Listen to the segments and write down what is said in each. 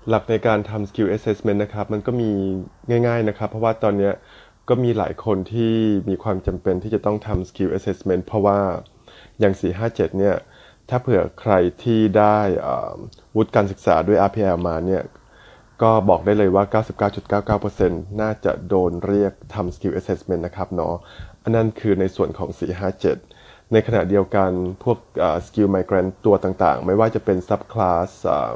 หลักในการทำ skill assessment นะครับมันก็มีง่ายๆนะครับเพราะว่าตอนเนี้ยก็มีหลายคนที่มีความจำเป็นที่จะต้องทำ skill assessment เพราะว่าอย่าง457เนี่ยถ้าเผื่อใครที่ได้วุฒิการศึกษาด้วย RPL มาเนี่ยก็บอกได้เลยว่า 99.99% น่าจะโดนเรียกทำ skill assessment นะครับเนาะอันนั้นคือในส่วนของ457ในขณะเดียวกันพวกskill migrant ตัวต่างๆไม่ว่าจะเป็น subclass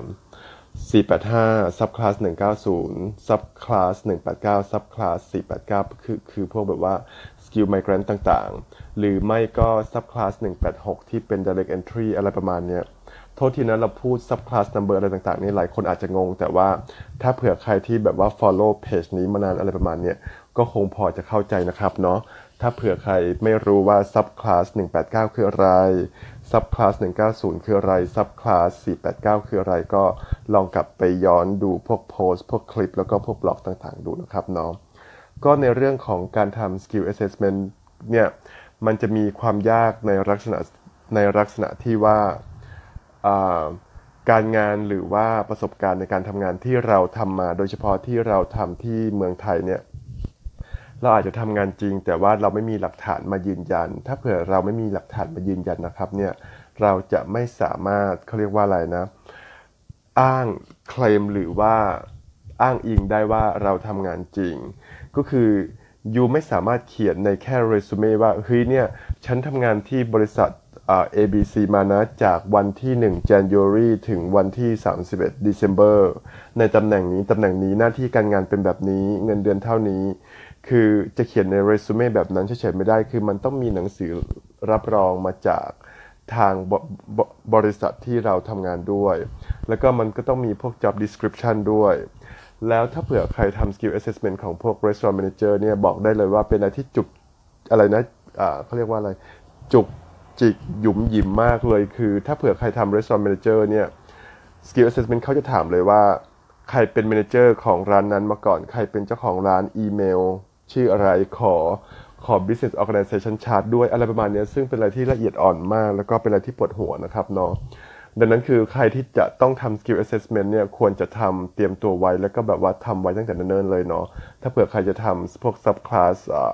485 subclass 190 subclass 189 subclass 489คือพวกแบบว่า skill migrant ต่างๆหรือไม่ก็ subclass 186ที่เป็น direct entry อะไรประมาณเนี้ยโทษทีนะเราพูด subclass number อะไรต่างๆนี่หลายคนอาจจะงงแต่ว่าถ้าเผื่อใครที่แบบว่า follow page นี้มานานอะไรประมาณเนี้ยก็คงพอจะเข้าใจนะครับเนาะถ้าเผื่อใครไม่รู้ว่า subclass 189คืออะไร subclass 190คืออะไร subclass 489คืออะไรก็ลองกลับไปย้อนดูพวกโพสต์พวกคลิปแล้วก็พวกบล็อกต่างๆดูนะครับเนาะก็ในเรื่องของการทำ skill assessment เนี่ยมันจะมีความยากในลักษณะที่ว่าอ่าการงานหรือว่าประสบการณ์ในการทำงานที่เราทำมาโดยเฉพาะที่เราทำที่เมืองไทยเนี่ย เราอาจจะทำงานจริงแต่ว่าเราไม่มีหลักฐานมายืนยันถ้าเผื่อเราไม่มีหลักฐานมายืนยันนะครับเนี่ยเราจะไม่สามารถเขาเรียกว่าอะไรนะอ้างเคลมหรือว่าอ้างอิงได้ว่าเราทำงานจริงก็คือยูไม่สามารถเขียนในแค่เรซูเม่ว่าเฮ้ยเนี่ยฉันทำงานที่บริษัทABC มานะจากวันที่1 January ถึงวันที่31 December ในตำแหน่งนี้หน้าที่การงานเป็นแบบนี้เงินเดือนเท่านี้ คือจะเขียนในเรซูเม่แบบนั้นเฉยๆไม่ได้คือมันต้องมีหนังสือรับรองมาจากทางบริษัทที่เราทำงานด้วยแล้วก็มันก็ต้องมีพวก job description ด้วยแล้วถ้าเผื่อใครทำ skill assessment ของพวก restaurant manager เนี่ยบอกได้เลยว่าเป็นอะไรที่จุกอะไรนะเขาเรียกว่าอะไรจุกจิกหยุมหยิมมากเลยคือถ้าเผื่อใครทำ restaurant manager เนี่ย skill assessment เขาจะถามเลยว่าใครเป็น manager ของร้านนั้นมาก่อนใครเป็นเจ้าของร้านอีเมลชื่ออะไรขอ business organization chart ด้วยอะไรประมาณนี้ซึ่งเป็นอะไรที่ละเอียดอ่อนมากแล้วก็เป็นอะไรที่ปวดหัวนะครับเนาะดังนั้นคือใครที่จะต้องทำ skill assessment เนี่ยควรจะทำเตรียมตัวไว้แล้วก็แบบว่าทำไว้ตั้งแต่เนิ่นๆเลยเนาะถ้าเผื่อใครจะทำพวก subclass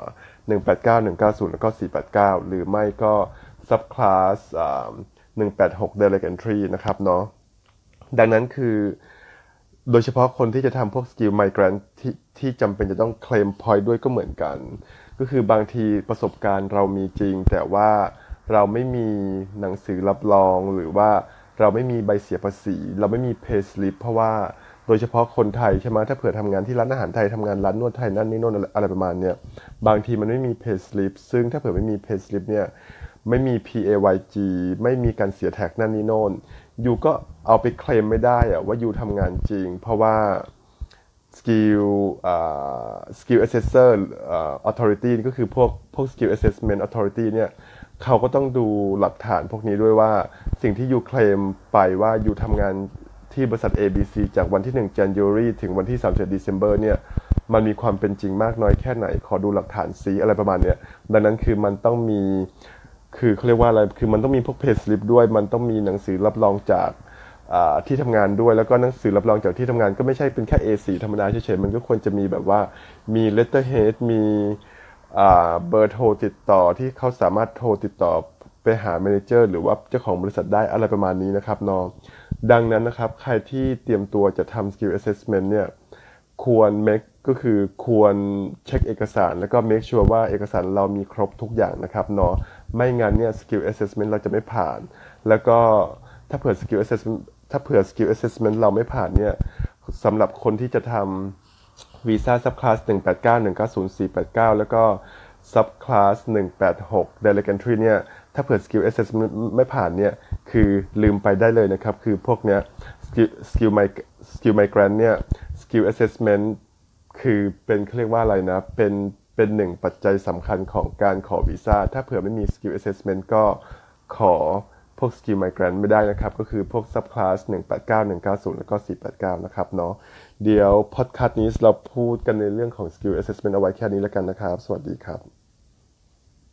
189 190แล้วก็489หรือไม่ก็ subclass 186 direct entry นะครับเนาะ ดังนั้นคือโดยเฉพาะคนที่จะทำพวก skill migrant ที่จำเป็นจะต้องเคลม point ด้วยก็เหมือนกันก็คือบางทีประสบการณ์เรามีจริงแต่ว่าเราไม่มีหนังสือรับรองหรือว่าเราไม่มีใบเสียภาษีเราไม่มี pay slip เพราะว่าโดยเฉพาะคนไทยใช่ไหมถ้าเผื่อทำงานที่ร้านอาหารไทยทำงานร้านนวดไทยนั่นนี่โน่นอะไรประมาณเนี้ยบางทีมันไม่มี pay slip ซึ่งถ้าเผื่อไม่มี pay slip เนี่ยไม่มี PAYG ไม่มีการเสียแท็กนั่นนี่โน่น ยูก็เอาไปเคลมไม่ได้อะว่ายูทำงานจริงเพราะว่าสกิลสกิล assessor authority ก็คือพวก skill assessment authority เนี่ยเขาก็ต้องดูหลักฐานพวกนี้ด้วยว่าสิ่งที่ยูเคลมไปว่ายูทำงานที่บริษัท ABC จากวันที่1 January ถึงวันที่31 December เนี่ยมันมีความเป็นจริงมากน้อยแค่ไหนขอดูหลักฐานซิอะไรประมาณเนี้ยดังนั้นคือมันต้องมี คือเขาเรียกว่าอะไร คือมันต้องมีพวกเพจสลิปด้วย มันต้องมีหนังสือรับรองจากที่ทำงานด้วย แล้วก็หนังสือรับรองจากที่ทำงานก็ไม่ใช่เป็นแค่ A4 ธรรมดาเฉยๆมันก็ควรจะมีแบบว่ามี letterhead มีเบอร์โทรติดต่อที่เขาสามารถโทรติดต่อไปหาเมเนเจอร์หรือว่าเจ้าของบริษัทได้อะไรประมาณนี้นะครับน้องดังนั้นนะครับใครที่เตรียมตัวจะทำ skill assessment เนี่ย ควร make ก็คือควรเช็คเอกสารแล้วก็ make sure ว่าเอกสารเรามีครบทุกอย่างนะครับเนาะไม่งั้นเนี่ย skill assessment เราจะไม่ผ่านแล้วก็ถ้าเผื่อ skill assessment ถ้าเผื่อ skill assessment เราไม่ผ่านเนี่ยสำหรับคนที่จะทำวีซ่า subclass 189 190 489แล้วก็ subclass 186 direct entry เนี่ยถ้าเผื่อ skill assessment ไม่ผ่านเนี่ยคือลืมไปได้เลยนะครับคือพวกเนี้ย skill migrant เนี่ย skill assessment คือเป็นเขาเรียกว่าอะไรนะเป็นหนึ่งปัจจัยสำคัญของการขอวีซ่าถ้าเผื่อไม่มี skill assessment ก็ขอพวก skill migrant ไม่ได้นะครับก็คือพวก subclass 189 190แล้วก็489นะครับเนาะเดี๋ยว podcast นี้เราพูดกันในเรื่องของ skill assessment เอาไว้แค่นี้แล้วกันนะครับสวัสดีครับ